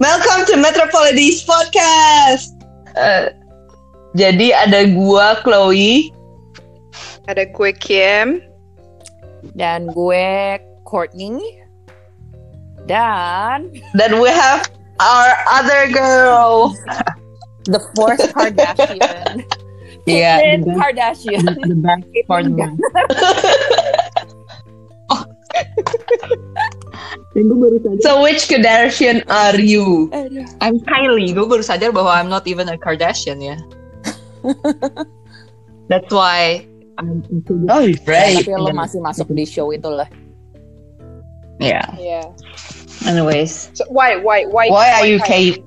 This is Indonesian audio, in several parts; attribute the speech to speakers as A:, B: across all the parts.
A: Welcome to Metropolides Podcast. Jadi ada gua Chloe,
B: ada gue Kim,
C: dan gue Courtney, dan
A: we have our other girl,
C: the fourth Kardashian.
A: Yeah,
C: Kardashian.
D: The best part of that. Dan gue baru sadar.
A: So which Kardashian are you?
D: I'm Kylie. Gue baru sadar bahwa I'm not even a Kardashian ya.
A: That's why.
D: Oh,
A: right.
C: Tapi lo masih masuk di show itu lah.
A: Yeah.
B: Yeah.
A: Anyways.
B: So why
A: are you Kate?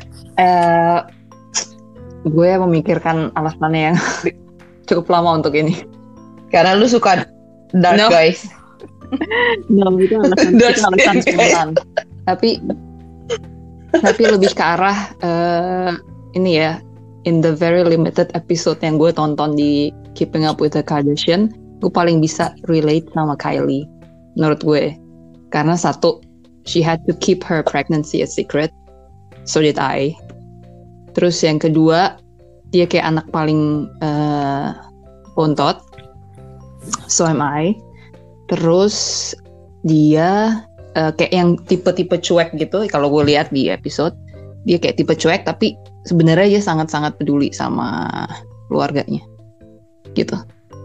D: Gue memikirkan alasannya yang cukup lama untuk ini.
A: Karena lu suka dark guys.
D: No, itu alasan spontan. Tapi lebih ke arah ini ya. In the very limited episode yang gue tonton di Keeping Up with the Kardashian, gue paling bisa relate sama Kylie menurut gue. Karena satu, she had to keep her pregnancy a secret. So did I. Terus yang kedua, dia kayak anak paling bontot. So am I. Terus dia kayak yang tipe-tipe cuek gitu. Kalau gue lihat di episode, dia kayak tipe cuek, tapi sebenarnya dia sangat-sangat peduli sama keluarganya. Gitu.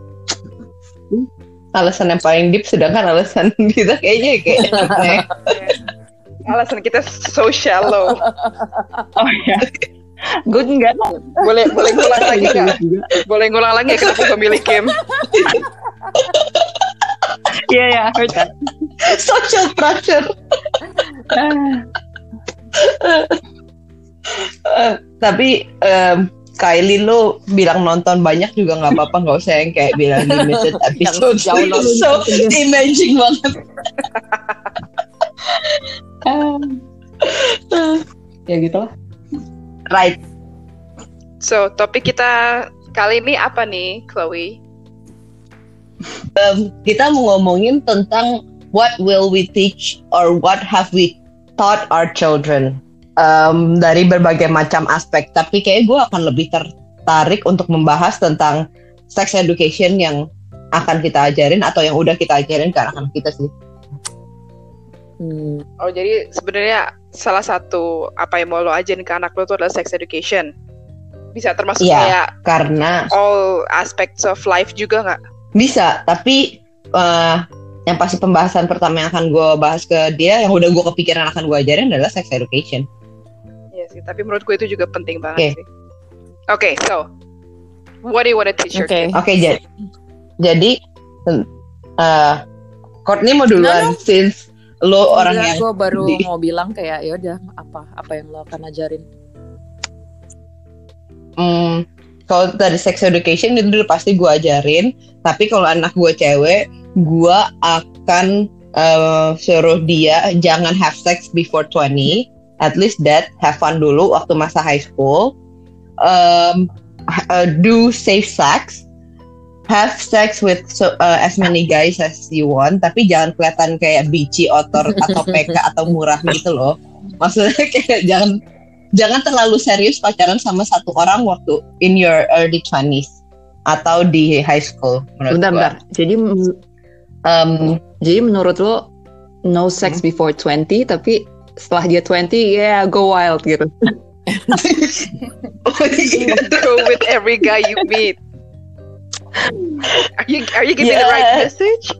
A: Alasan yang paling deep, sedangkan alasan kita kayaknya kayak
B: alasan kita so shallow.
D: Oh ya. Gue enggak.
B: Boleh ngulang lagi nggak? Boleh ngulang lagi kenapa gue milih Kim?
D: Yeah, heard that.
A: social pressure. Tapi Kylie lo bilang nonton banyak juga nggak apa-apa, nggak usah yang kayak bilang limited episode. So imagine banget.
D: Ya gitulah.
A: Right.
B: So topik kita kali ini apa nih, Chloe?
A: Kita mau ngomongin tentang what will we teach or what have we taught our children. Dari berbagai macam aspek, tapi kayak gue akan lebih tertarik untuk membahas tentang sex education yang akan kita ajarin atau yang udah kita ajarin ke anak-anak kita sih.
B: Oh, jadi sebenarnya salah satu apa yang mau lo ajarin ke anak lo itu adalah sex education. Bisa termasuk kayak
A: karena
B: all aspects of life juga nggak?
A: Bisa, tapi yang pasti pembahasan pertama yang akan gue bahas ke dia, yang udah gue kepikiran akan gue ajarin adalah sex education.
B: Sih, tapi menurut gue itu juga penting banget sih. Okay, so what do you want to teach your kids?
A: Jadi Courtney mau duluan since lo orang yang
C: gue baru mau bilang kayak ya udah apa yang lo akan ajarin.
A: Kalau dari sex education itu udah pasti gue ajarin, tapi kalau anak gue cewek, gue akan suruh dia jangan have sex before 20. At least that, have fun dulu waktu masa high school. Do safe sex. Have sex with as many guys as you want. Tapi jangan kelihatan kayak bici, otor, atau PK, atau murah gitu loh. Maksudnya kayak jangan terlalu serius pacaran sama satu orang waktu in your early 20s. Atau di high school.
D: Bentar. Jadi menurut lo, no sex before 20, tapi setelah dia 20, go wild gitu.
B: Go with every guy you meet. Are you giving the right message?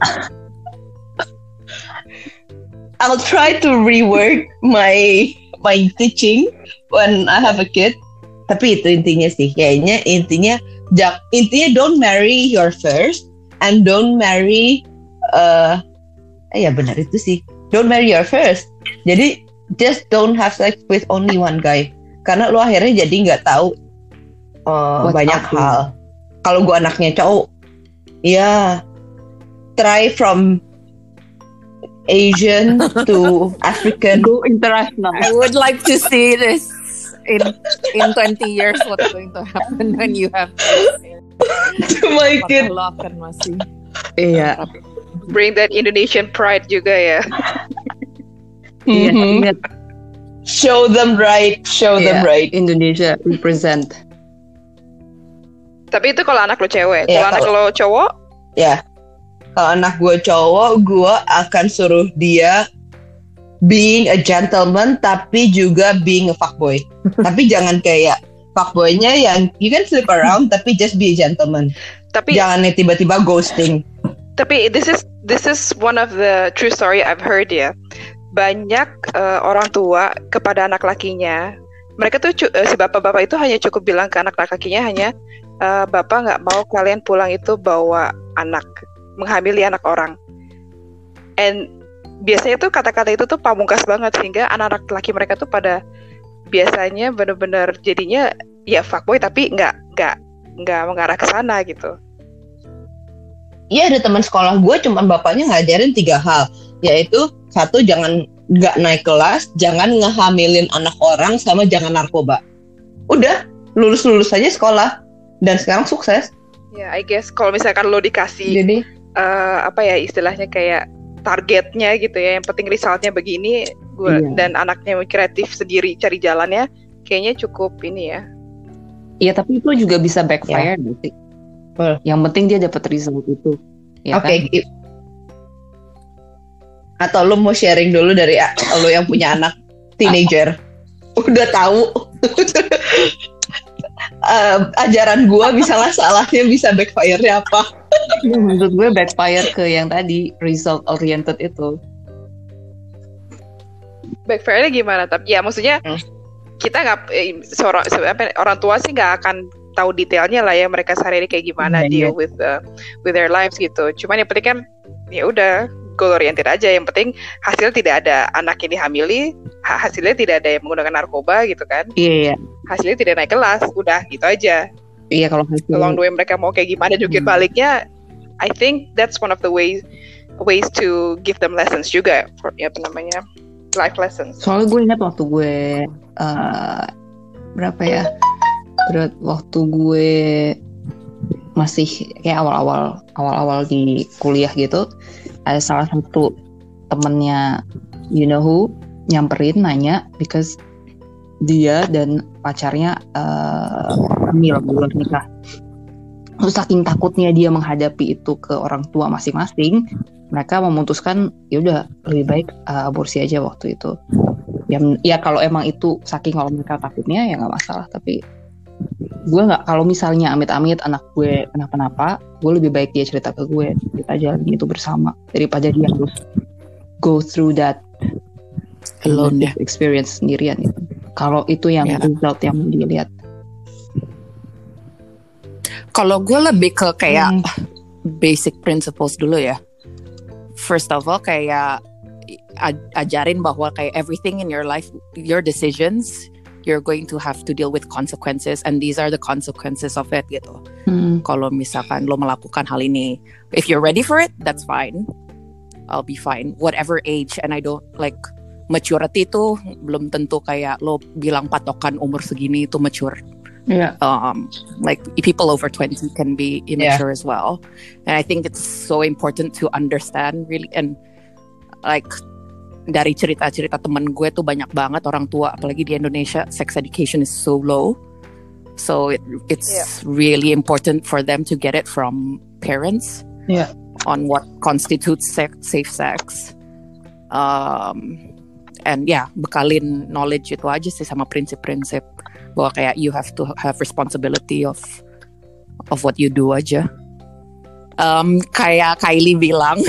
A: I'll try to rework my teaching when I have a kid. Tapi itu intinya sih. Kayaknya intinya don't marry your first and don't marry benar itu sih. Don't marry your first. Jadi just don't have sex with only one guy. Karena lo akhirnya jadi nggak tahu banyak hal. Kalau gue anaknya cowok, try from Asian to African.
D: Go international.
C: I would like to see this in 20 years. What's going to happen when you have
A: To my kid.
C: Lo akan masih.
D: Iya.
B: Bring that Indonesian pride juga ya.
D: Iya, ingat.
A: Show them right.
D: Indonesia represent.
B: Tapi itu kalau anak lo cewek.
A: Ya,
B: Kalau anak lo cowok,
A: Ya, kalau anak gue cowok, gue akan suruh dia being a gentleman, tapi juga being a fuckboy. Tapi jangan kayak fuckboynya yang you can sleep around, tapi just be a gentleman.
B: tapi
A: Jangan tiba-tiba ghosting.
B: Tapi this is one of the true story I've heard ya. Banyak orang tua kepada anak lakinya, mereka tuh si bapak-bapak itu hanya cukup bilang ke anak lakinya hanya bapak nggak mau kalian pulang itu bawa anak, menghamili anak orang. And biasanya tuh kata-kata itu tuh pamungkas banget sehingga anak-anak laki mereka tuh pada biasanya benar-benar jadinya ya fuckboy tapi nggak mengarah ke sana gitu.
A: Iya, ada teman sekolah gue, cuman bapaknya ngajarin 3 hal, yaitu 1, jangan nggak naik kelas, jangan ngehamilin anak orang, sama jangan narkoba. Udah, lulus aja sekolah, dan sekarang sukses.
B: Ya, I guess kalau misalkan lo dikasih
A: Jadi
B: apa ya istilahnya kayak targetnya gitu ya, yang penting resultnya begini, dan anaknya kreatif sendiri cari jalannya, kayaknya cukup ini ya.
D: Iya, tapi itu juga bisa backfire nanti. Yang penting dia dapat result itu. Ya
A: Oke.
D: kan?
A: Atau lo mau sharing dulu dari lo yang punya anak teenager? Udah tahu. Ajaran gue misalnya salahnya bisa backfire-nya apa?
D: Menurut gue backfire ke yang tadi result oriented itu.
B: Backfire-nya gimana? Tapi ya maksudnya kita nggak orang tua sih nggak akan tahu detailnya lah ya mereka sehari-hari kayak gimana deal with their lives gitu. Cuman yang penting kan ya udah goal oriented aja. Yang penting hasil tidak ada anak yang dihamili, hasilnya tidak ada yang menggunakan narkoba gitu kan.
D: Iya.
B: Hasilnya tidak naik kelas, udah gitu aja.
D: Iya, kalau hasil
B: Along the way mereka mau kayak gimana jungkir baliknya, I think that's one of the ways to give them lessons juga, apa namanya, life lessons.
D: Soalnya gue ingat waktu gue berapa ya? Waktu gue masih kayak awal-awal di kuliah gitu, ada salah satu temennya you know who nyamperin nanya because dia dan pacarnya hamil di luar nikah. Terus saking takutnya dia menghadapi itu ke orang tua masing-masing, mereka memutuskan ya udah lebih baik aborsi aja waktu itu. Ya kalau emang itu saking kalau mereka takutnya ya nggak masalah, tapi gue nggak, kalau misalnya amit-amit anak gue kenapa-napa, gue lebih baik dia cerita ke gue, kita jalanin itu bersama daripada dia harus go through that
C: alone ya,
D: experience sendirian itu. Kalau itu yang result yang mau dilihat.
C: Kalau gue lebih ke kayak basic principles dulu ya. First of all kayak ajarin bahwa kayak everything in your life, your decisions, you're going to have to deal with consequences, and these are the consequences of it gitu. Kalau misalkan lo melakukan hal ini, if you're ready for it, that's fine. I'll be fine. Whatever age, and I don't like maturity itu belum tentu kayak lo bilang patokan umur segini itu mature.
D: Yeah.
C: Like people over 20 can be immature as well. And I think it's so important to understand really, and like dari cerita-cerita temen gue tuh banyak banget orang tua, apalagi di Indonesia, sex education is so low. So it's really important for them to get it from parents on what constitutes safe sex. And bekalin knowledge itu aja sih sama prinsip-prinsip bahwa kayak you have to have responsibility of what you do aja. Kayak Kylie bilang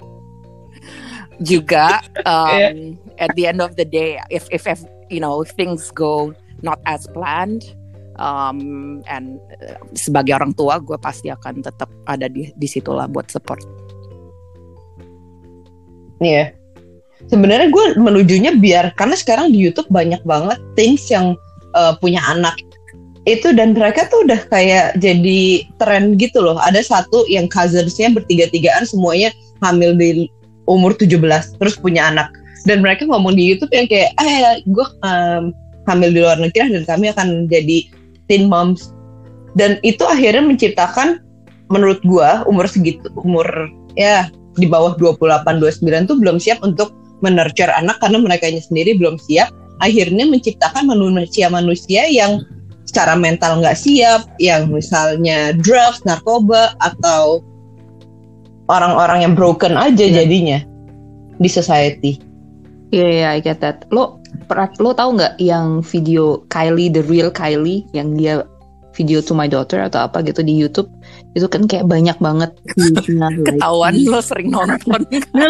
C: juga at the end of the day, if you know things go not as planned, and sebagai orang tua gue pasti akan tetap ada di situlah buat support.
A: Iya. Sebenarnya gue menujunya biar, karena sekarang di YouTube banyak banget things yang punya anak itu, dan mereka tuh udah kayak jadi tren gitu loh. Ada satu yang cousins-nya bertiga-tigaan semuanya hamil di umur 17 terus punya anak, dan mereka ngomong di YouTube yang kayak gue hamil di luar negeri dan kami akan jadi teen moms, dan itu akhirnya menciptakan, menurut gue umur segitu, umur ya di bawah 28-29 tuh belum siap untuk menurture anak karena mereka sendiri belum siap, akhirnya menciptakan manusia yang secara mental nggak siap, yang misalnya drugs, narkoba, atau orang-orang yang broken aja jadinya di society.
D: Iya, I get that. Lo tahu nggak yang video Kylie, the real Kylie, yang dia video to my daughter atau apa gitu di YouTube, itu kan kayak banyak banget
C: ketahuan lo sering nonton.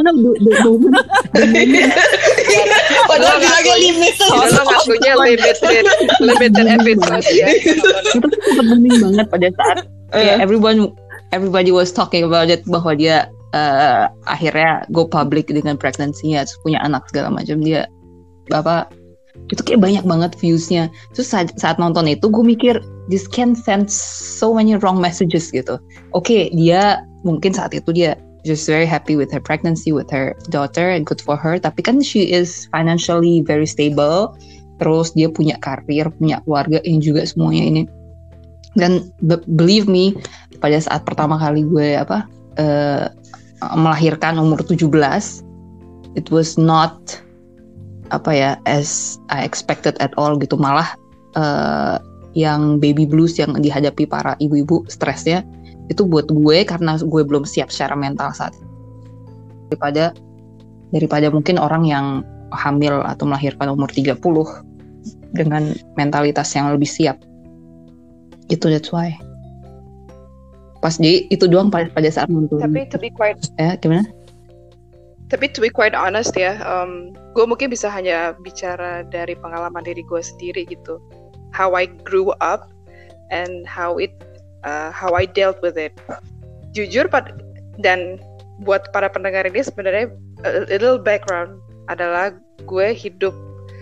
A: Padahal bilangnya limited.
B: Lo ngakunya limited episode ya.
D: Itu sempat booming banget pada saat everybody was talking about it, bahwa dia akhirnya go public dengan pregnancy-nya, terus punya anak segala macam. Dia itu kayak banyak banget views-nya. Terus saat nonton itu gue mikir, this can send so many wrong messages gitu. Oke, dia mungkin saat itu dia just very happy with her pregnancy, with her daughter, and good for her. Tapi kan she is financially very stable. Terus dia punya karir, punya keluarga, ini juga semuanya ini. Dan believe me, pada saat pertama kali gue melahirkan umur 17, it was not as I expected at all gitu. Malah yang baby blues yang dihadapi para ibu-ibu, stresnya itu buat gue karena gue belum siap secara mental saat itu. daripada mungkin orang yang hamil atau melahirkan umur 30 dengan mentalitas yang lebih siap. Itu that's why. Pas itu doang pada saat nonton.
B: Tapi to be quite
D: gimana?
B: Tapi to be quite honest ya, gue mungkin bisa hanya bicara dari pengalaman diri gue sendiri gitu. How I grew up and how I dealt with it. Jujur dan buat para pendengar ini sebenarnya a little background adalah gue hidup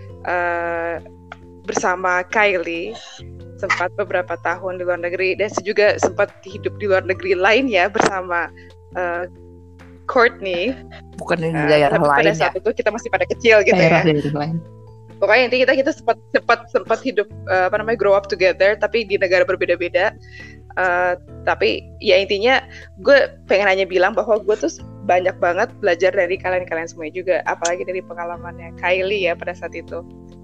B: bersama Kylie sempat beberapa tahun di luar negeri, dan juga sempat hidup di luar negeri lainnya bersama Courtney.
C: Bukan di daerah lain
B: pada saat itu kita masih pada kecil gitu ya.
D: Lain.
B: Pokoknya intinya kita sempat hidup grow up together, tapi di negara berbeda-beda. Tapi ya intinya gue pengen hanya bilang bahwa gue tuh banyak banget belajar dari kalian semuanya juga, apalagi dari pengalamannya Kylie ya pada saat itu.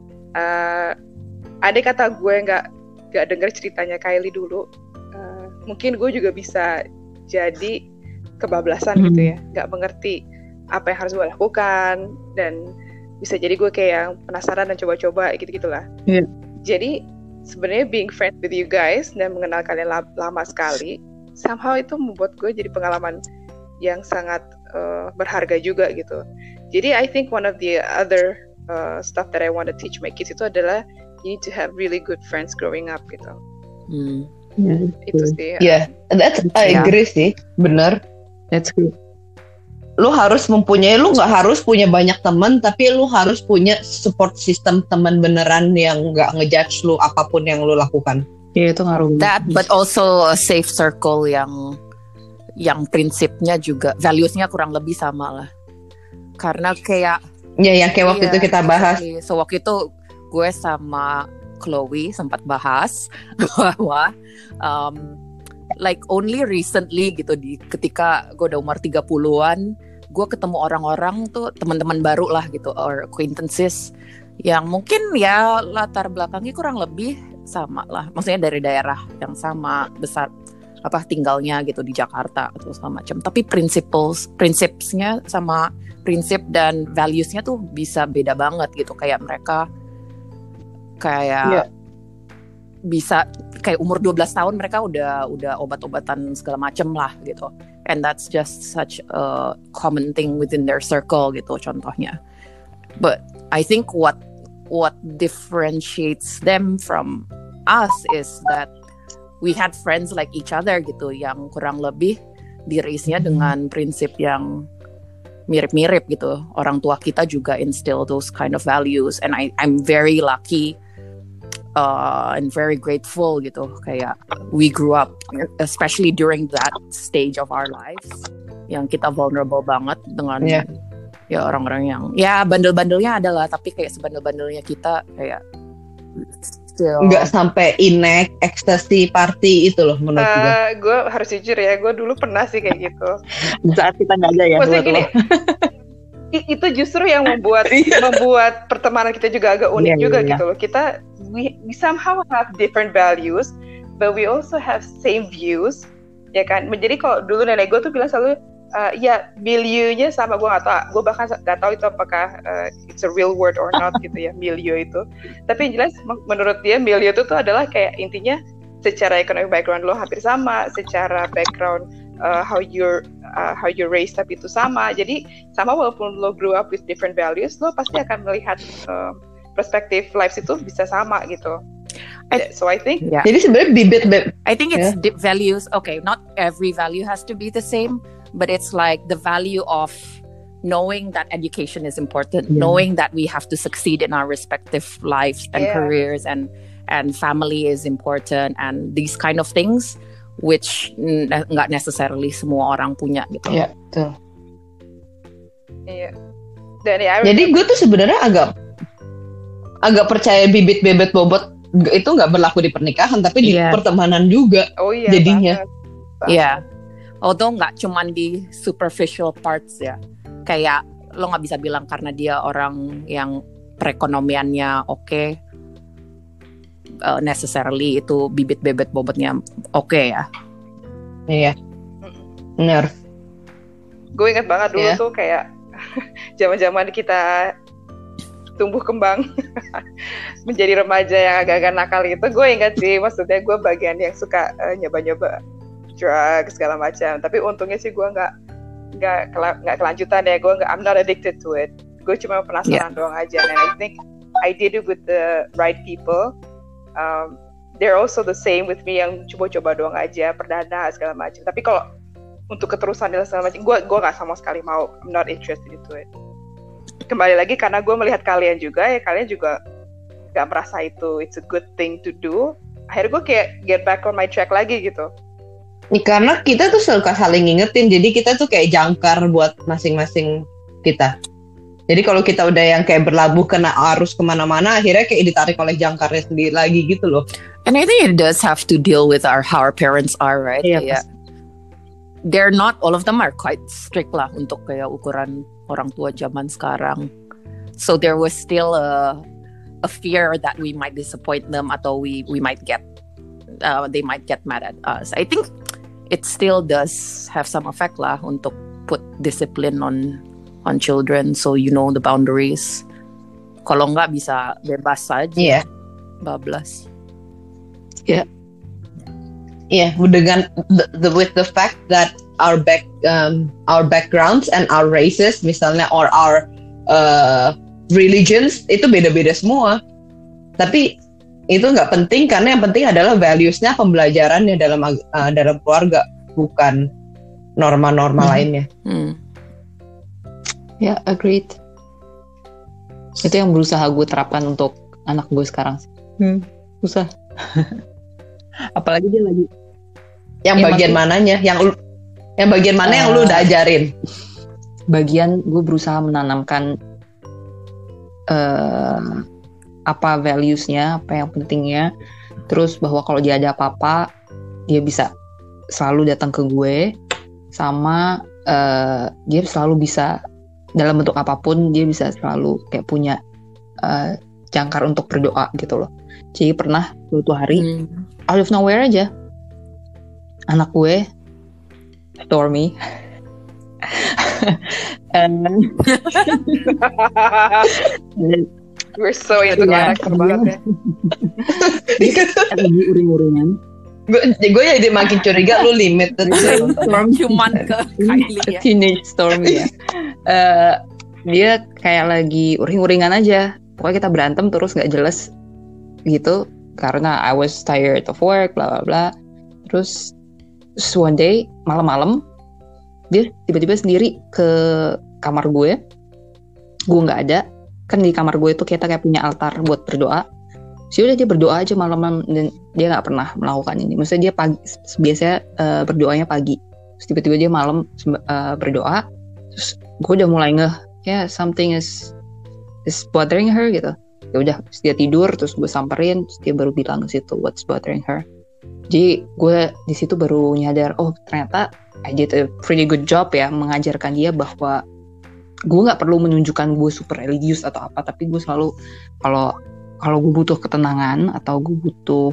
B: Ada kata gue nggak dengar ceritanya Kylie dulu, mungkin gue juga bisa jadi kebablasan gitu ya, nggak mengerti apa yang harus gue lakukan, dan bisa jadi gue kayak yang penasaran dan coba-coba gitu-gitulah.
D: Yeah.
B: Jadi sebenarnya being friends with you guys dan mengenal kalian lama sekali, somehow itu membuat gue jadi pengalaman yang sangat berharga juga gitu. Jadi I think one of the other stuff that I want to teach my kids itu adalah you need to have really good friends growing up gitu.
D: Yeah,
B: itu sih.
A: Yeah, I agree sih, bener.
D: That's good.
A: Lu nggak harus punya banyak teman, tapi lu harus punya support system teman beneran yang nggak ngejudge lu apapun yang lu lakukan.
D: Iya, itu ngaruh.
C: That, but also a safe circle yang prinsipnya juga, values-nya kurang lebih sama lah. Karena kayak
A: yang kayak waktu itu kita bahas.
C: So waktu itu gue sama Chloe sempat bahas bahwa like only recently gitu, ketika gue udah umur 30-an, gue ketemu orang-orang tuh, teman-teman baru lah gitu, or acquaintances yang mungkin ya latar belakangnya kurang lebih sama lah, maksudnya dari daerah yang sama, besar tinggalnya gitu di Jakarta atau segala macam, tapi prinsipnya sama, prinsip dan values-nya tuh bisa beda banget gitu. Kayak mereka bisa kayak umur 12 tahun mereka udah obat-obatan segala macem lah gitu, and that's just such a common thing within their circle gitu contohnya. But I think what differentiates them from us is that we had friends like each other gitu, yang kurang lebih di-raise-nya dengan prinsip yang mirip-mirip gitu. Orang tua kita juga instill those kind of values, and I'm very lucky and very grateful gitu, kayak we grew up, especially during that stage of our lives yang kita vulnerable banget dengan ya orang-orang yang ya bandel-bandelnya adalah, tapi kayak sebandel-bandelnya kita kayak
A: nggak sampai inek ecstasy party itu loh menurut gue.
B: Gue harus jujur ya, gue dulu pernah sih kayak gitu.
D: Saat kita nggak ada ya.
B: Maksudnya gini, itu justru yang membuat pertemanan kita juga agak unik juga gitu loh. Kita we somehow have different values, but we also have same views, ya kan? Jadi kalau dulu nenek gue tuh bilang selalu ya milieunya sama, gue nggak tahu, gue bahkan nggak tahu itu apakah it's a real word or not gitu ya, milieu itu. Tapi yang jelas menurut dia milieu itu tuh adalah kayak intinya secara economic background lo hampir sama, secara background how you're raised up itu sama. Jadi sama walaupun lo grew up with different values, lo pasti akan melihat perspektif lives itu bisa sama gitu. So I think
A: jadi sebenarnya bibit
C: I think it's values. Okay, not every value has to be the same, but it's like the value of knowing that education is important, knowing that we have to succeed in our respective lives and careers, and family is important, and these kind of things which nggak necessarily semua orang punya gitu.
A: Iya, betul.
B: Iya.
A: Jadi gue tuh sebenarnya agak percaya bibit bobot itu nggak berlaku di pernikahan, tapi di pertemanan juga.
B: Oh iya.
A: Jadinya.
C: Iya. Although nggak cuman di superficial parts ya. Kayak lo nggak bisa bilang karena dia orang yang perekonomiannya oke, necessarily itu bibit bobotnya oke ya.
A: Iya. Benar.
B: Gue ingat banget dulu tuh kayak zaman-zaman kita tumbuh kembang menjadi remaja yang agak-agak nakal gitu. Gue ingat sih, maksudnya gue bagian yang suka nyoba-nyoba drugs segala macam. Tapi untungnya sih gue nggak kelanjutan ya. I'm not addicted to it. Gue cuma penasaran doang aja. And I think I did it with the right people. They're also the same with me, yang coba-coba doang aja, perdana segala macam. Tapi kalau untuk keterusan dan segala macam, gue nggak sama sekali mau. I'm not interested into it. Kembali lagi karena gue melihat kalian juga gak merasa itu it's a good thing to do. Akhirnya gue kayak get back on my track lagi gitu.
A: Karena kita tuh suka saling ngingetin, jadi kita tuh kayak jangkar buat masing-masing kita. Jadi kalau kita udah yang kayak berlabuh kena arus kemana-mana, akhirnya kayak ditarik oleh jangkarnya sendiri lagi gitu loh.
C: And I think it does have to deal with how our parents are, right? Yeah. They're not, all of them are quite strict lah untuk kayak ukuran orang tua zaman sekarang. So there was still a fear that we might disappoint them, atau we might get they might get mad at us. I think it still does have some effect lah untuk put discipline on children, so you know the boundaries. Kalau nggak bisa bebas saja, bablas.
A: Dengan with the fact that our backgrounds and our races misalnya, or our religions itu beda-beda semua. Tapi itu nggak penting, karena yang penting adalah values-nya, pembelajarannya dalam keluarga, bukan norma-norma lainnya.
D: Ya, agreed. Itu yang berusaha gue terapkan untuk anak gue sekarang. Susah. Apalagi dia lagi.
A: Yang bagian mananya? Yang bagian mana yang lu udah ajarin?
D: Bagian gue berusaha menanamkan apa values-nya, apa yang pentingnya. Terus bahwa kalau dia ada apa-apa, dia bisa selalu datang ke gue. Sama dia selalu bisa, dalam bentuk apapun, dia bisa selalu kayak punya jangkar untuk berdoa gitu loh. Jadi pernah suatu hari out of nowhere aja, anak gue Stormy
B: we're so into karakter banget ya.
D: Lagi uring-uringan.
A: Gue jadi makin curiga lu limited
C: cuman ke Kylie ya.
D: Teenage Stormy ya. Dia kayak lagi uring-uringan aja. Pokoknya kita berantem terus nggak jelas gitu, karena I was tired of work, bla bla bla. Terus one day malam-malam dia tiba-tiba sendiri ke kamar gue nggak ada. Kan di kamar gue itu kita kayak punya altar buat berdoa. Udah dia berdoa aja malam-malam, dan dia nggak pernah melakukan ini. Maksudnya dia pagi, biasanya berdoanya pagi. Terus tiba-tiba dia malam berdoa. Terus gue udah mulai something is bothering her gitu. Ya udah, dia tidur, terus gue samperin, terus dia baru bilang ke situ what's bothering her. Jadi gue di situ baru nyadar, oh ternyata I did a pretty good job ya mengajarkan dia bahwa gue nggak perlu menunjukkan gue super religius atau apa, tapi gue selalu kalau gue butuh ketenangan atau gue butuh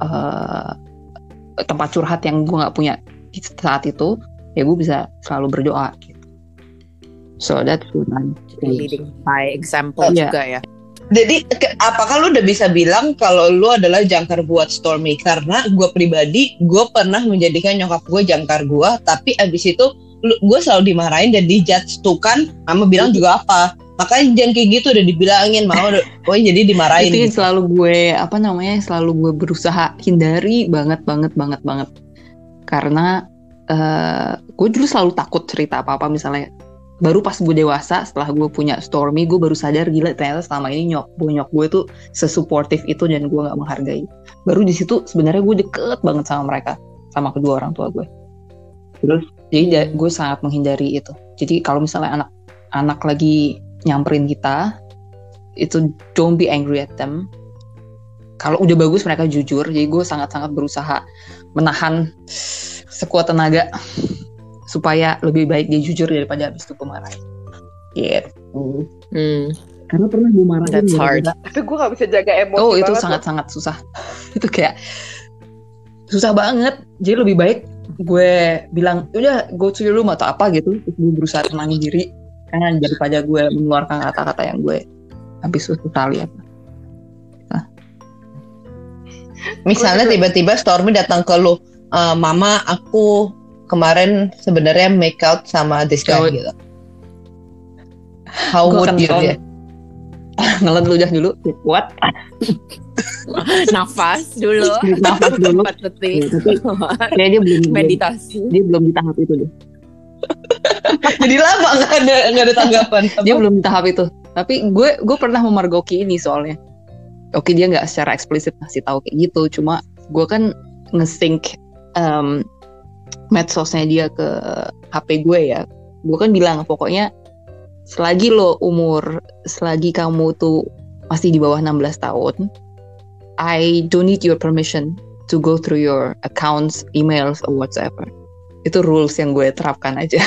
D: tempat curhat yang gue nggak punya saat itu, ya gue bisa selalu berdoa gitu. So that's what I'm
C: leading by example juga ya.
A: Jadi apakah lu udah bisa bilang kalau lu adalah jangkar buat Stormy? Karena gue pribadi, gue pernah menjadikan nyokap gue jangkar gue, tapi abis itu gue selalu dimarahin dan dijudge tuh kan, mama bilang juga apa. Makanya jangan kayak gitu, udah dibilangin mama, jadi dimarahin.
D: Itu
A: gitu.
D: Selalu gue selalu gue berusaha hindari banget. Karena gue dulu selalu takut cerita apa-apa, misalnya baru pas gue dewasa setelah gue punya Stormy, gue baru sadar gila ternyata selama ini nyok gue tuh sesupportive itu dan gue nggak menghargai. Baru di situ sebenarnya gue deket banget sama mereka, sama kedua orang tua gue. Terus jadi gue sangat menghindari itu. Jadi kalau misalnya anak lagi nyamperin kita, itu don't be angry at them. Kalau udah bagus mereka jujur. Jadi gue sangat-sangat berusaha menahan sekuat tenaga supaya lebih baik dia jujur daripada habis itu gue marahin. Gitu. Karena pernah gue marahin.
C: That's hard.
B: Tapi gue gak bisa jaga emosi.
D: Oh itu sangat-sangat susah. Itu kayak susah banget. Jadi lebih baik gue bilang udah go to your room atau apa gitu. Terus gue berusaha tenangin diri. Karena daripada gue mengeluarkan kata-kata yang gue habis susah lihat.
A: Misalnya tiba-tiba Stormy datang ke lu, mama aku kemarin sebenarnya make out sama this guy gitu. How would you react?
D: Ngelan ludah dulu, kuat.
C: Nafas dulu. 4 detik.
D: Kayak dia belum
C: meditasi.
D: Dia belum di tahap itu deh.
A: Jadi lama nggak ada tanggapan.
D: Dia belum di tahap itu. Tapi gue pernah memergoki ini soalnya. Oke dia nggak secara eksplisit ngasih tahu kayak gitu, cuma gue kan nge-sync medsosnya dia ke HP gue ya. Gue kan bilang pokoknya selagi kamu tuh masih di bawah 16 tahun, I don't need your permission to go through your accounts, emails or whatsoever. Itu rules yang gue terapkan aja.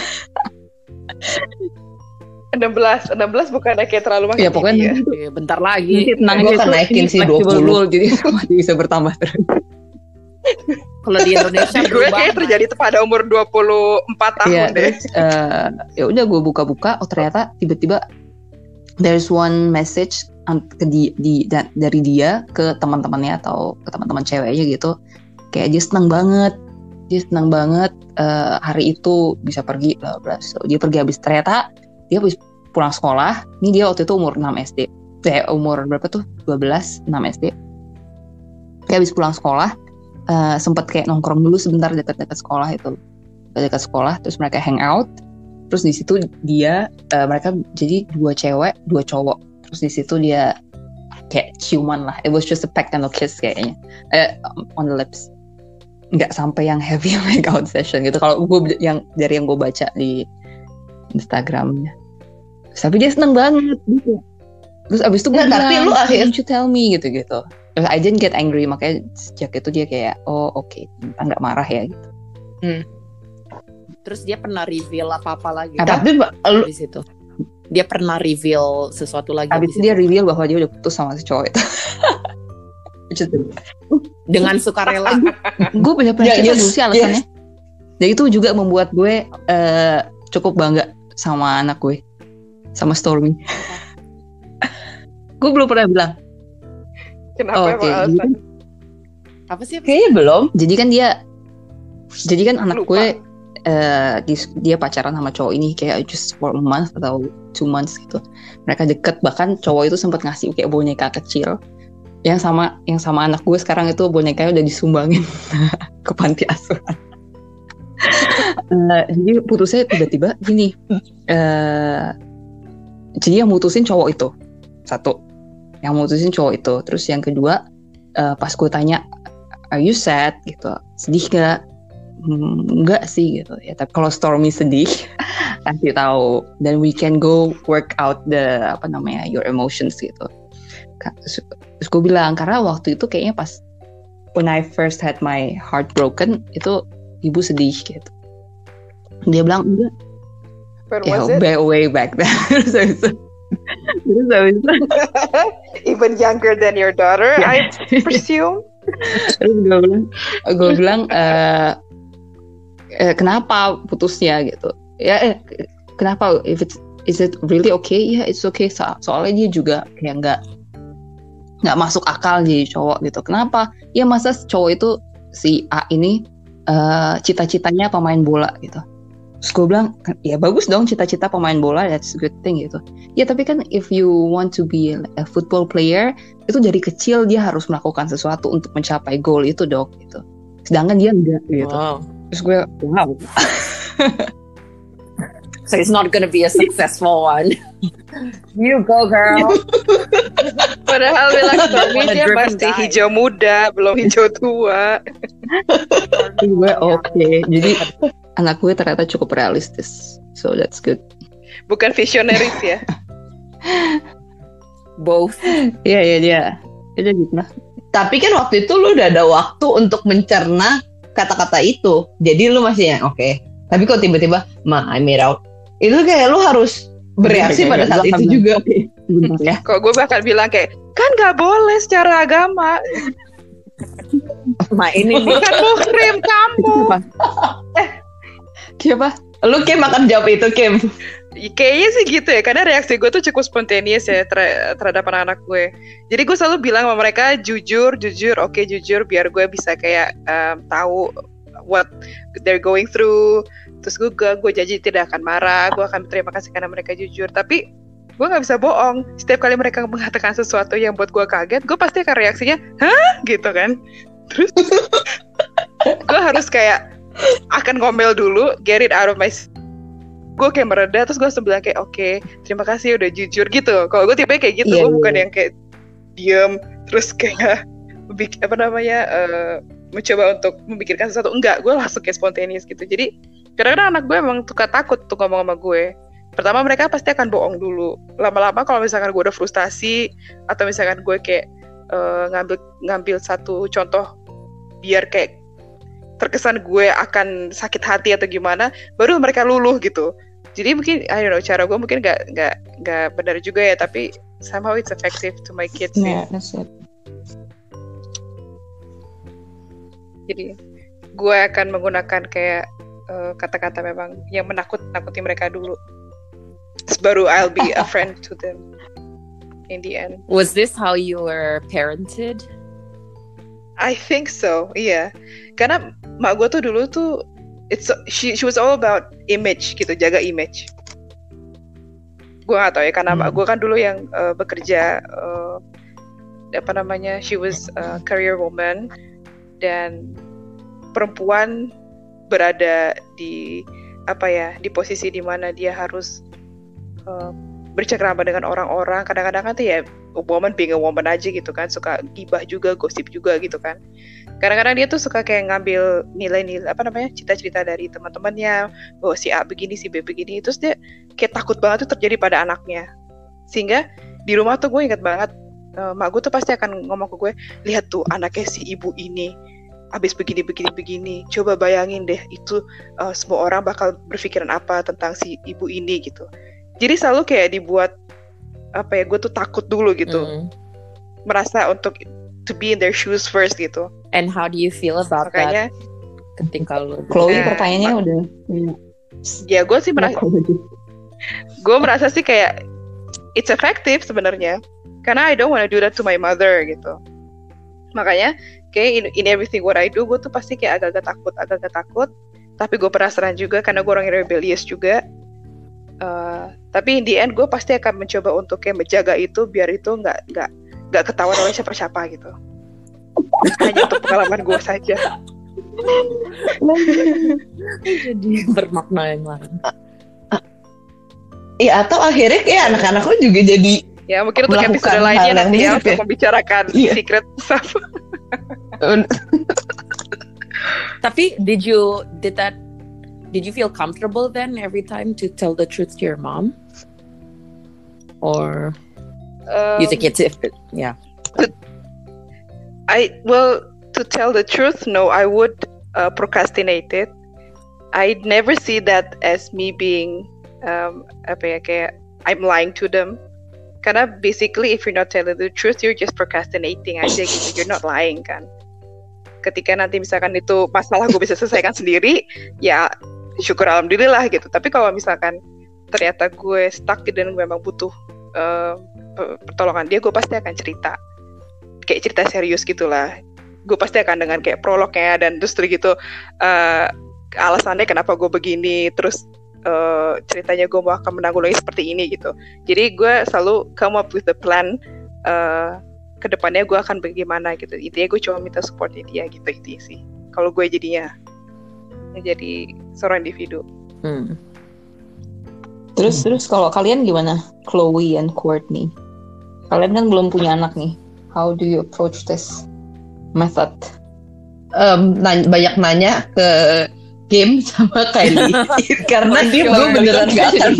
B: 16 bukan kayak terlalu makin.
D: Ya pokoknya
C: bentar lagi.
A: Gue akan naikin sih 20.
D: Jadi masih bisa bertambah terus.
C: Kalau di Indonesia
B: gue kayak terjadi pada umur 24 tahun deh.
D: Ya udah gue buka-buka, ternyata tiba-tiba there's one message dari dia ke teman-temannya atau ke teman-teman ceweknya gitu. Kayak dia senang banget hari itu bisa pergi bla bla. So, dia pergi ternyata dia habis pulang sekolah. Ini dia waktu itu umur 6 SD. Umur berapa tuh? 12, 6 SD. Dia habis pulang sekolah. Sempat kayak nongkrong dulu sebentar dekat-dekat sekolah itu, dekat sekolah, terus mereka hang out, terus di situ mereka jadi 2 cewek 2 cowok, terus di situ dia kayak ciuman lah, it was just a peck and a kiss kayaknya, on the lips, nggak sampai yang heavy make out session gitu kalau gue dari yang gue baca di Instagramnya, tapi dia seneng banget gitu. Terus abis itu gue bilang,
A: tapi lu
D: don't you tell me gitu. I didn't get angry, makanya sejak itu dia kayak oke, nggak marah ya gitu.
C: Terus dia pernah reveal apa-apa lagi?
A: Tapi
C: di situ dia pernah reveal sesuatu lagi.
D: Abis itu dia reveal bahwa dia udah putus sama si cowok itu.
C: Dengan sukarela.
D: Gue banyak cerita dulu sih alasannya. Dan itu juga membuat gue cukup bangga sama anak gue, sama Stormy. Gue belum pernah bilang.
B: Kenapa alasan?
C: Apa sih?
A: Kayaknya belum.
D: Jadi kan anak gue dia pacaran sama cowok ini kayak just for a month atau 2 months gitu. Mereka deket, bahkan cowok itu sempat ngasih kayak boneka kecil yang sama anak gue sekarang itu bonekanya udah disumbangin ke panti asuhan. Jadi putusnya tiba-tiba gini. Jadi yang mutusin cowok itu satu. Yang mutusin cowok itu. Terus yang kedua, pas gue tanya, are you sad gitu, sedih gak? Enggak sih gitu ya. Tapi kalau Stormy sedih, kasih tahu, then we can go work out your emotions gitu. Terus gue bilang, karena waktu itu kayaknya pas when I first had my heart broken, itu ibu sedih gitu. Dia bilang
B: When was it?
D: Way back then. Terus habis itu
B: Even younger than your daughter, I presume.
D: terus gue bilang kenapa putusnya gitu ya, kenapa, is it really okay? Ya, it's okay. Soalnya dia juga kayak nggak masuk akal jadi cowok gitu. Kenapa? Ya masa cowok itu si A ini cita-citanya pemain bola gitu. Terus gue bilang, ya bagus dong cita-cita pemain bola, that's a good thing gitu. Ya tapi kan if you want to be a football player, itu dari kecil dia harus melakukan sesuatu untuk mencapai goal itu dong gitu. Sedangkan dia enggak gitu.
C: Wow.
D: Terus gue, wow.
C: So it's not gonna be a successful one. You go, girl.
B: Padahal bilang suami dia
C: Driven
B: pasti
C: guy.
B: hijau muda, belum hijau tua.
D: Gue oke. Jadi anak gue ternyata cukup realistis. So that's good.
B: Bukan visionaris ya.
C: Both.
D: Iya dia. Dia gitu lah.
A: Tapi kan waktu itu lu udah ada waktu untuk mencerna kata-kata itu. Jadi lu masih yang oke. Tapi kok tiba-tiba I made out. Itu kayak lu harus bereaksi pada saat itu juga.
D: Oke, sebentar ya.
B: Kok gue bakal bilang kayak, kan nggak boleh secara agama.
C: Ma ini nih.
B: Bukan muhrim kamu.
D: Siapa?
A: Lu Kim akan jawab itu, Kim.
B: Kayaknya sih gitu ya, karena reaksi gue tuh cukup spontaneous ya terhadap anak-anak gue. Jadi gue selalu bilang sama mereka jujur, oke jujur, biar gue bisa kayak tahu what they're going through. Terus gue janji tidak akan marah, gue akan berterima kasih karena mereka jujur. Tapi gue nggak bisa bohong. Setiap kali mereka mengatakan sesuatu yang buat gue kaget, gue pasti akan reaksinya, hah? Gitu kan. Terus gue harus kayak akan ngomel dulu, get it out of my. Gue kayak mereda, terus gue bilang kayak oke, terima kasih udah jujur gitu. Kalau gue tipe kayak gitu, gue bukan yang kayak diem terus kayak mencoba untuk memikirkan sesuatu. Enggak, gue langsung kayak spontaneous gitu. Jadi kadang-kadang anak gue emang suka takut tuh ngomong sama gue. Pertama mereka pasti akan bohong dulu. Lama-lama kalau misalkan gue udah frustasi atau misalkan gue kayak ngambil satu contoh biar kayak terkesan gue akan sakit hati atau gimana, baru mereka luluh gitu. Jadi mungkin I don't know, cara gue mungkin nggak benar juga ya, tapi somehow it's effective to my kids.
D: Yeah, that's it.
B: Jadi gue akan menggunakan kayak kata-kata memang yang menakuti mereka dulu. Terus baru I'll be a friend to them in the end.
C: Was this how you were parented?
B: I think so, iya. Karena mak gue tuh dulu tuh she was all about image gitu, jaga image. Gue nggak tahu ya, karena mak gue kan dulu yang bekerja she was a career woman, dan perempuan berada di di posisi di mana dia harus bercengkrama dengan orang-orang. Kadang-kadang kan tuh ya woman being a woman aja gitu kan, suka gibah juga, gosip juga gitu kan. Kadang-kadang dia tuh suka kayak ngambil nilai-nilai cita-cita dari teman-temannya, bahwa si A begini, si B begini, terus dia kayak takut banget tuh terjadi pada anaknya. Sehingga di rumah tuh gue ingat banget, mak gue tuh pasti akan ngomong ke gue, lihat tuh anaknya si ibu ini abis begini, coba bayangin deh itu semua orang bakal berpikiran apa tentang si ibu ini gitu. Jadi selalu kayak dibuat gue tuh takut dulu gitu, merasa untuk to be in their shoes first gitu.
C: And how do you feel about
B: Makanya,
C: that? Ketika lu
D: Chloe pertanyaannya udah.
B: Ya gue sih merasa sih kayak it's effective sebenarnya, karena I don't want to do that to my mother gitu. Makanya kayak in everything what I do, gue tuh pasti kayak agak-agak takut. Tapi gue penasaran juga karena gue orang yang rebellious juga. Tapi in the end gue pasti akan mencoba untuk kayak menjaga itu biar itu nggak ketahuan oleh siapa-siapa gitu. Hanya untuk pengalaman gue saja.
C: jadi bermakna yang lain.
A: Iya, atau akhirnya kayak anak-anak lo juga jadi
B: Ya mungkin untuk
A: melakukan
B: episode lainnya
A: hal yang
B: nanti ya
A: mirip
B: untuk
A: ya.
B: membicarakan
A: Iya.
B: secret stuff.
C: Tapi did you feel comfortable then every time to tell the truth to your mom? Or you think it's yeah.
B: To tell the truth, no, I would procrastinate it. I never see that as me being kayak I'm lying to them. Karena basically if you're not telling the truth, you're just procrastinating aja gitu. You're not lying kan. Ketika nanti misalkan itu masalah gue bisa selesaikan sendiri, ya syukur alhamdulillah gitu. Tapi kalau misalkan ternyata gue stuck dan gue memang butuh pertolongan dia, gue pasti akan cerita. Kayak cerita serius gitulah. Gue pasti akan dengan kayak prolognya dan terus gitu alasannya kenapa gue begini, terus ceritanya gue mau akan menanggulangi seperti ini gitu. Jadi gue selalu come up with the plan kedepannya gue akan bagaimana gitu. Intinya gue cuma minta supportnya dia gitu sih. Kalau gue jadinya jadi seorang individu.
D: Terus kalau kalian gimana, Chloe and Courtney? Kalian kan belum punya anak nih. How do you approach this method?
A: Banyak nanya ke Kim sama Kylie karena dia gue beneran gak akan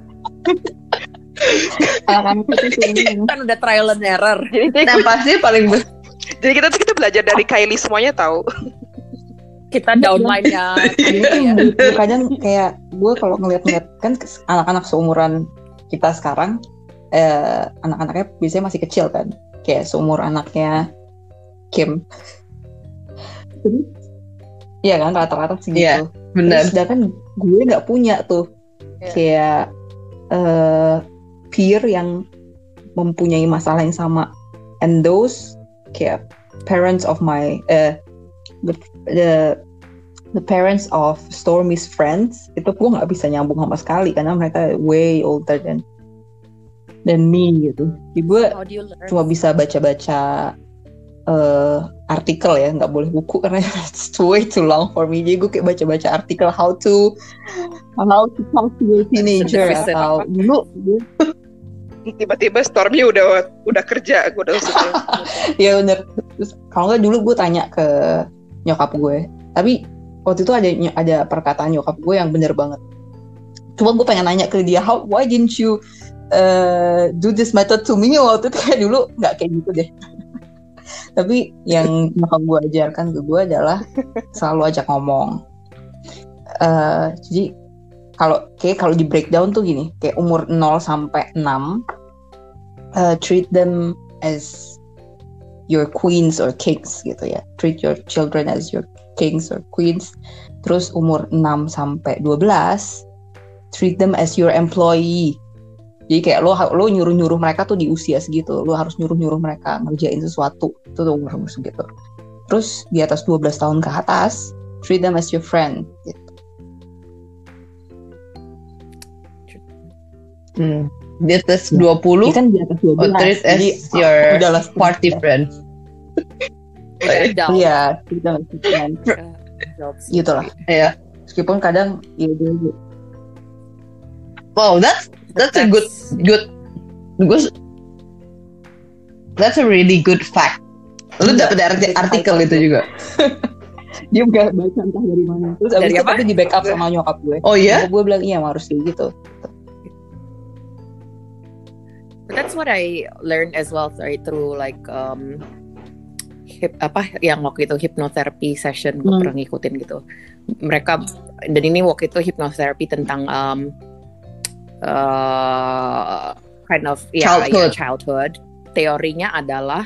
C: kan udah trial and error.
A: Nah pasti paling
B: jadi kita belajar dari Kylie semuanya tahu.
C: Kita downline-nya
D: kadang kayak gue kalau ngeliat kan anak-anak seumuran kita sekarang anak-anaknya biasanya masih kecil kan, kayak seumur anaknya Kim. Iya kan, rata-rata segitu.
A: Iya, benar.
D: Sedangkan gue nggak punya tuh kayak peer yang mempunyai masalah yang sama. And those kayak parents of my the parents of Stormy's friends itu gue nggak bisa nyambung sama sekali karena mereka way older than me gitu. Jadi gue cuma bisa baca-baca artikel ya, nggak boleh buku karena it's way too long for me. Jadi gue kayak baca-baca artikel how to talk to a teenager atau dulu
B: tiba-tiba Stormy udah kerja, gue udah usut.
D: Ya bener. Terus kalau nggak dulu gue tanya ke nyokap gue, tapi waktu itu ada perkataan nyokap gue yang bener banget. Cuma gue pengen nanya ke dia, why didn't you do this method to me? Waktu itu kayak dulu nggak kayak gitu deh. Tapi yang nyokap gue ajarkan ke gue adalah selalu ajak ngomong. Jadi kalau di breakdown tuh gini, kayak umur 0 sampai 6 treat them as your queens or kings gitu ya. Treat your children as your kings or queens. Terus umur 6 sampai 12 treat them as your employee. Jadi kayak lo nyuruh mereka tuh di usia segitu, lo harus nyuruh mereka ngerjain sesuatu, itu tuh umur segitu. Terus di atas 12 tahun ke atas, treat them as your friend gitu.
A: Di atas 20
D: kan di atas 12
A: treat as your party friend.
D: Iya, treat them as your friend. Gitu lah.
A: Iya.
D: Meskipun kadang ya dulu.
A: Wow, that's a good that's a really good fact. Lu dapet artikel itu juga.
D: Dia nggak baca entah dari mana. Terus abis itu tapi di backup sama nyokap gue.
A: Oh iya?
D: Gue bilang iya harus kayak gitu.
C: But that's what I learned as well, right, through like yang waktu itu hypnotherapy session gue pernah ngikutin gitu. Mereka dan ini waktu itu hypnotherapy tentang kind of childhood. Teorinya adalah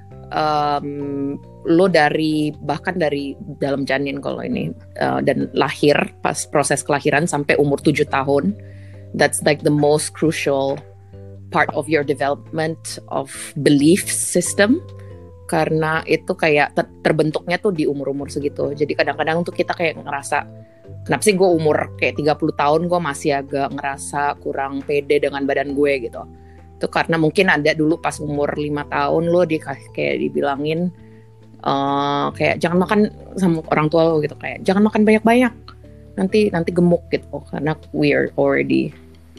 C: lo bahkan dari dalam janin kalau ini dan lahir pas proses kelahiran sampai umur 7 tahun, that's like the most crucial part of your development of belief system, karena itu kayak terbentuknya tuh di umur-umur segitu. Jadi kadang-kadang tuh kita kayak ngerasa kenapa sih gue umur kayak 30 tahun gue masih agak ngerasa kurang pede dengan badan gue gitu. Itu karena mungkin ada dulu pas umur 5 tahun lo kayak dibilangin kayak jangan makan sama orang tua lo gitu, kayak jangan makan banyak-banyak nanti gemuk gitu, karena we're already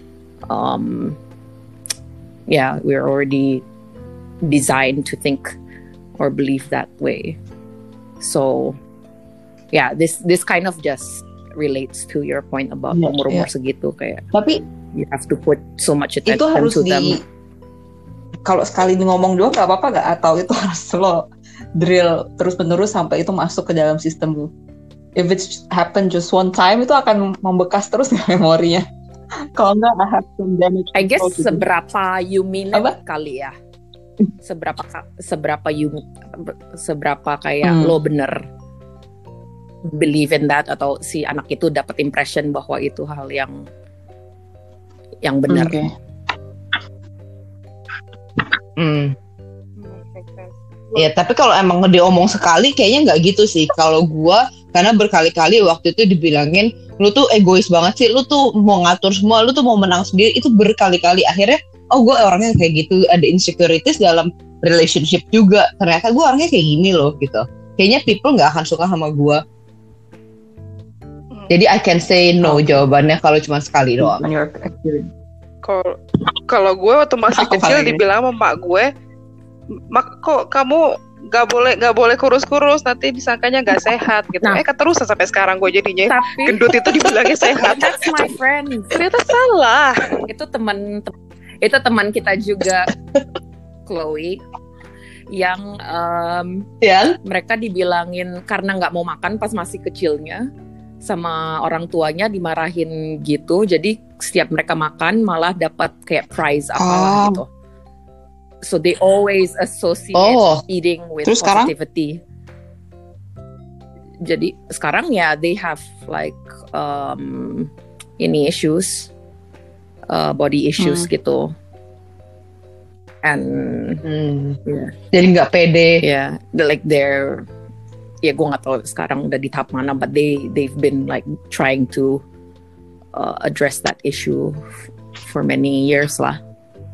C: we're already designed to think or believe that way. So this kind of just relates to your point about umur-umur segitu, kayak
D: tapi
C: you have to put so much attention
D: itu harus
C: to them.
D: Kalau sekali ngomong doang nggak apa-apa nggak, atau itu harus lo drill terus-menerus sampai itu masuk ke dalam sistemmu. If it happen just one time, itu akan membekas terus memorinya. Kalau nggak, I have some damage
C: I guess
D: control to do.
C: seberapa you mean it
A: Apa?
C: kali ya. Seberapa kayak lo bener believe in that, atau si anak itu dapat impression bahwa itu hal yang benar.
D: Oke.
A: Ya, tapi kalau emang diomong sekali kayaknya nggak gitu sih. Kalau gua, karena berkali-kali waktu itu dibilangin, lu tuh egois banget sih, lu tuh mau ngatur semua, lu tuh mau menang sendiri, itu berkali-kali. Akhirnya, oh gue orangnya kayak gitu, ada insecurities dalam relationship juga. Ternyata gue orangnya kayak gini loh gitu. Kayaknya people nggak akan suka sama gua. Jadi I can say no jawabannya kalau cuma sekali doang.
D: On your experience.
B: Kalau gue waktu masih
A: Aku
B: kecil
A: kali ini.
B: dibilang sama mak gue, mak kok kamu nggak boleh kurus-kurus, nanti disangkanya nggak sehat gitu.
C: Nah.
B: Keterusan sampai sekarang gue jadinya
C: Tapi
B: gendut itu dibilangnya sehat.
C: that's my friend.
B: Ternyata salah.
C: Itu teman kita juga, Chloe, yang
A: Ya,
C: mereka dibilangin karena nggak mau makan pas masih kecilnya, sama orang tuanya dimarahin gitu. Jadi setiap mereka makan malah dapat kayak prize apalah gitu. So they always associate eating with
D: Terus sekarang?
C: positivity. Jadi sekarang ya they have like ini issues, body issues gitu. And yeah.
A: Jadi nggak pede.
C: Yeah, like they're, ya gue nggak tahu sekarang udah di tahap mana, but they've been like trying to address that issue for many years lah.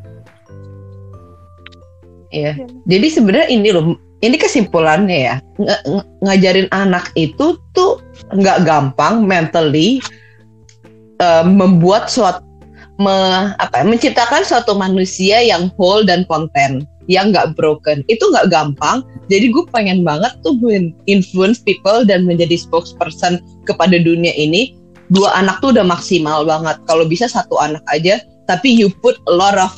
A: Iya. Jadi sebenarnya ini loh, ini kesimpulannya ya, ngajarin anak itu tuh nggak gampang mentally, membuat menciptakan suatu manusia yang whole dan konten, yang nggak broken. Itu nggak gampang. Jadi gue pengen banget tuh influence people dan menjadi spokesperson kepada dunia ini. 2 anak tuh udah maksimal banget. Kalau bisa 1 anak aja, tapi you put a lot of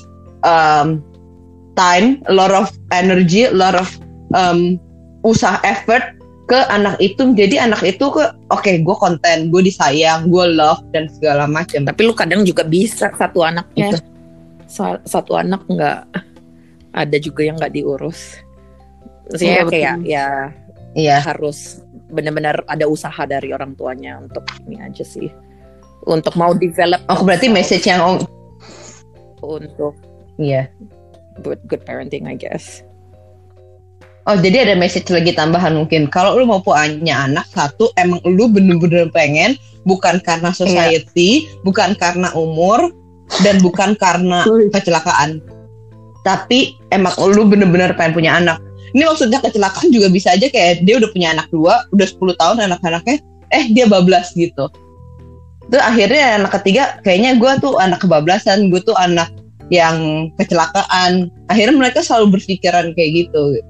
A: time, a lot of energy, a lot of usaha, effort ke anak itu. Jadi anak itu oke, gue konten, gue disayang, gue love dan segala macam.
C: Tapi lu kadang juga bisa satu anaknya, satu anak nggak, ada juga yang nggak diurus. Maksudnya kayak ya harus benar-benar ada usaha dari orang tuanya untuk ini aja sih, untuk mau develop.
A: Oh, berarti message yang
C: untuk good parenting, I guess.
A: Oh, jadi ada message lagi tambahan mungkin. Kalau lu mau punya anak, 1, emang lu bener-bener pengen, bukan karena society, bukan karena umur, dan bukan karena kecelakaan. Tapi emang lu bener-bener pengen punya anak. Ini maksudnya kecelakaan juga bisa aja kayak dia udah punya anak 2, udah 10 tahun anak-anaknya, dia bablas gitu. Terus akhirnya anak ketiga, kayaknya gue tuh anak kebablasan, gue tuh anak yang kecelakaan. Akhirnya mereka selalu berpikiran kayak gitu.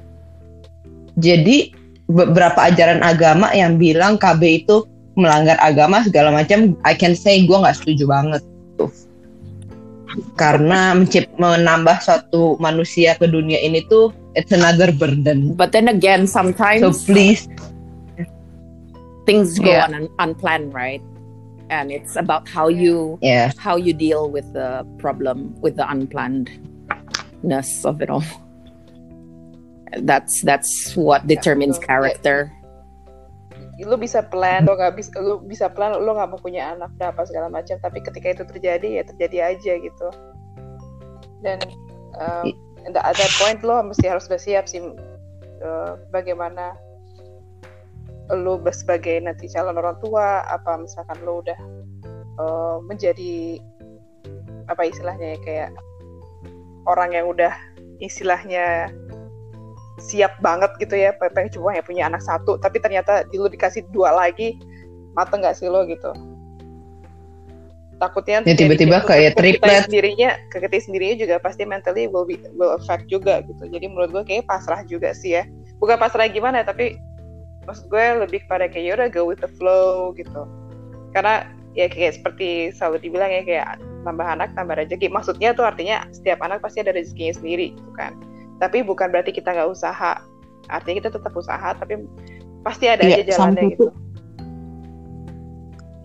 A: Jadi beberapa ajaran agama yang bilang KB itu melanggar agama segala macam, I can say gue nggak setuju banget tuh. Karena menambah suatu manusia ke dunia ini tuh it's another burden.
C: But then again, sometimes
A: so please
C: things go unplanned, right? And it's about how you deal with the problem, with the unplannedness of it all. That's what determines character.
B: Lu bisa plan, lu bisa plan, lu nggak mau punya anak, apa segala macam. Tapi ketika itu terjadi, ya terjadi aja gitu. Dan at that point lo mesti harus udah siap sih, bagaimana lo sebagai nanti calon orang tua, apa misalkan lo udah menjadi apa istilahnya ya, kayak orang yang udah istilahnya siap banget gitu ya, pengen coba ya punya anak 1, tapi ternyata lo dikasih 2 lagi, mateng nggak sih lo gitu? Takutnya
A: tiba-tiba kayak triplet.
B: Ke kita sendirinya juga pasti mentally will affect juga gitu. Jadi menurut gue kayak pasrah juga sih ya. Bukan pasrah gimana, tapi maksud gue lebih kepada kayak yaudah go with the flow gitu. Karena ya kayak seperti selalu dibilang ya, kayak tambah anak tambah rezeki. Maksudnya tuh artinya setiap anak pasti ada rezekinya sendiri gitu kan. Tapi bukan berarti kita nggak usaha. Artinya kita tetap usaha, tapi pasti ada aja jalannya gitu.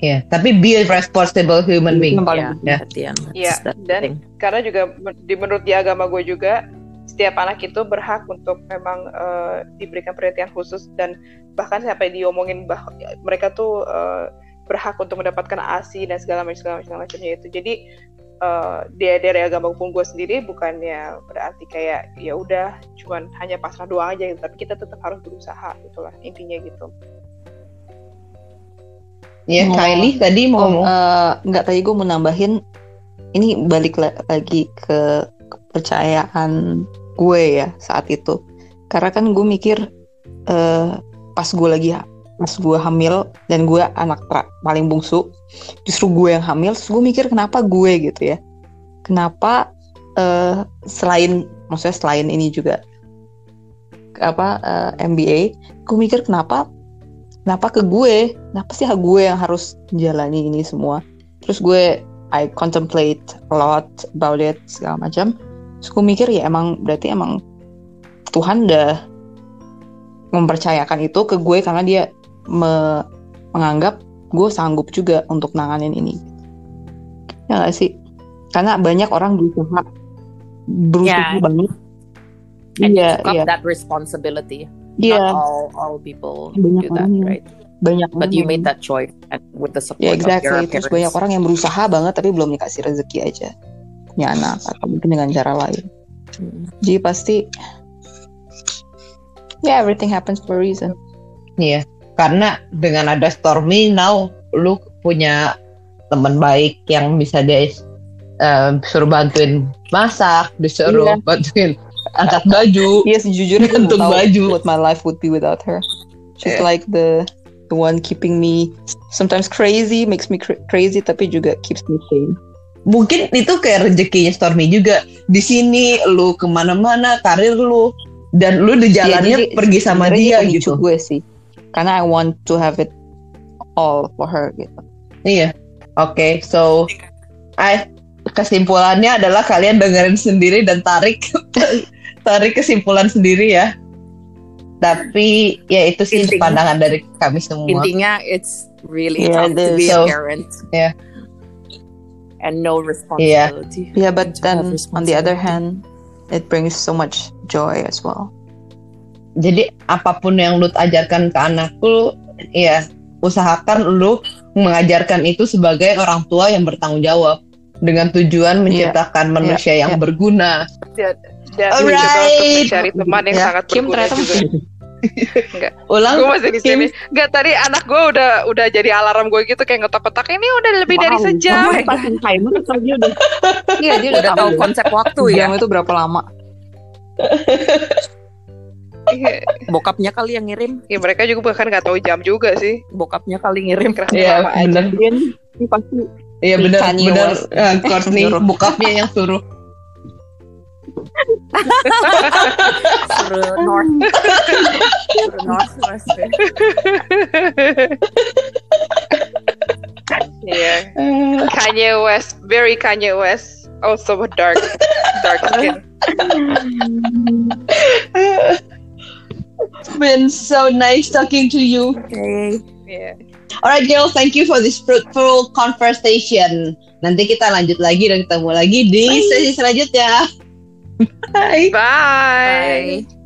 A: Yeah, tapi be a responsible human being.
D: Yang paling
C: Yeah, at the end,
B: Iya,
C: that's the
B: dan
C: thing.
B: karena juga menurut di agama gue juga setiap anak itu berhak untuk memang diberikan perhatian khusus dan bahkan sampai diomongin mereka tuh berhak untuk mendapatkan ASI dan segala macamnya itu. Jadi dari agama pun gue sendiri bukannya berarti kayak ya udah cuman hanya pasrah doang aja gitu, tapi kita tetap harus berusaha gitulah intinya gitu.
A: Ya, Kylie tadi mau ngomong.
D: Enggak, tadi gue mau nambahin, ini balik lagi ke kepercayaan gue ya saat itu. Karena kan gue mikir pas gue hamil dan gue anak paling bungsu, justru gue yang hamil, terus gue mikir kenapa gue gitu ya. Kenapa selain ini juga MBA, gue mikir kenapa ke gue, kenapa sih gue yang harus menjalani ini semua. Terus I contemplate a lot about it segala macam. Terus gue mikir ya berarti emang Tuhan udah mempercayakan itu ke gue karena dia menganggap gue sanggup juga untuk nanganin ini. Ya gak sih? Karena banyak orang berusaha banget.
C: And you took up that responsibility.
D: Yeah.
C: Not all people
D: Banyak
C: do that,
D: orang
C: right?
D: But
C: you made that choice and with the support
D: ya,
C: of
D: exactly.
C: your
D: Terus
C: parents.
D: banyak orang yang berusaha banget tapi belum dikasih rezeki aja punya anak atau mungkin dengan cara lain. Jadi pasti everything happens for a reason.
A: Iya, karena dengan ada Stormy now lu punya teman baik yang bisa dia suruh bantuin masak, disuruh bantuin angkat baju.
D: Iya, sejujurnya
A: gantung baju.
D: What my life would be without her. She's like the one keeping me sometimes crazy, makes me crazy, tapi juga keeps me sane.
A: Mungkin itu kayak rezekinya Stormy juga. Di sini lu kemana-mana, karir lu, dan lu di jalannya pergi sama dia gitu.
D: Gue sih, karena I want to have it all for her gitu.
A: Iya, oke. So, kesimpulannya adalah kalian dengerin sendiri dan tarik kesimpulan sendiri ya. Tapi ya itu sih pandangan dari kami semua.
C: Intinya it's really tough to be a parent.
A: Yeah.
C: And no responsibility.
D: Yeah, but then on the other hand, it brings so much joy as well.
A: Jadi apapun yang lu ajarkan ke anak lu, ya usahakan lu mengajarkan itu sebagai orang tua yang bertanggung jawab dengan tujuan menciptakan manusia yang berguna.
B: Dan mencoba untuk mencari teman yang sangat berguna juga. Enggak.
A: Ulang.
B: Gue masih di sini. Enggak, tadi anak gue udah jadi alarm gue gitu kayak ngetok-ketok. Ini udah lebih dari sejam.
D: Pasang timer atau dia udah? Iya, dia udah
C: tahu konsep waktu ya.
D: Jam itu berapa lama?
C: Bokapnya kali yang ngirim.
B: Ya mereka juga bahkan nggak tahu jam juga sih.
C: Bokapnya kali ngirim.
A: Iya benar.
D: Ini pasti.
A: Iya benar. Courtney bokapnya yang suruh.
C: Suruh Northwest.
B: Yeah. Kanye West, very Kanye West, also dark skin.
A: It's been so nice talking to you.
C: Okay.
B: Yeah.
A: Alright girls, thank you for this fruitful conversation. Nanti kita lanjut lagi dan ketemu lagi di sesi selanjutnya. Bye.
B: Bye.
C: Bye.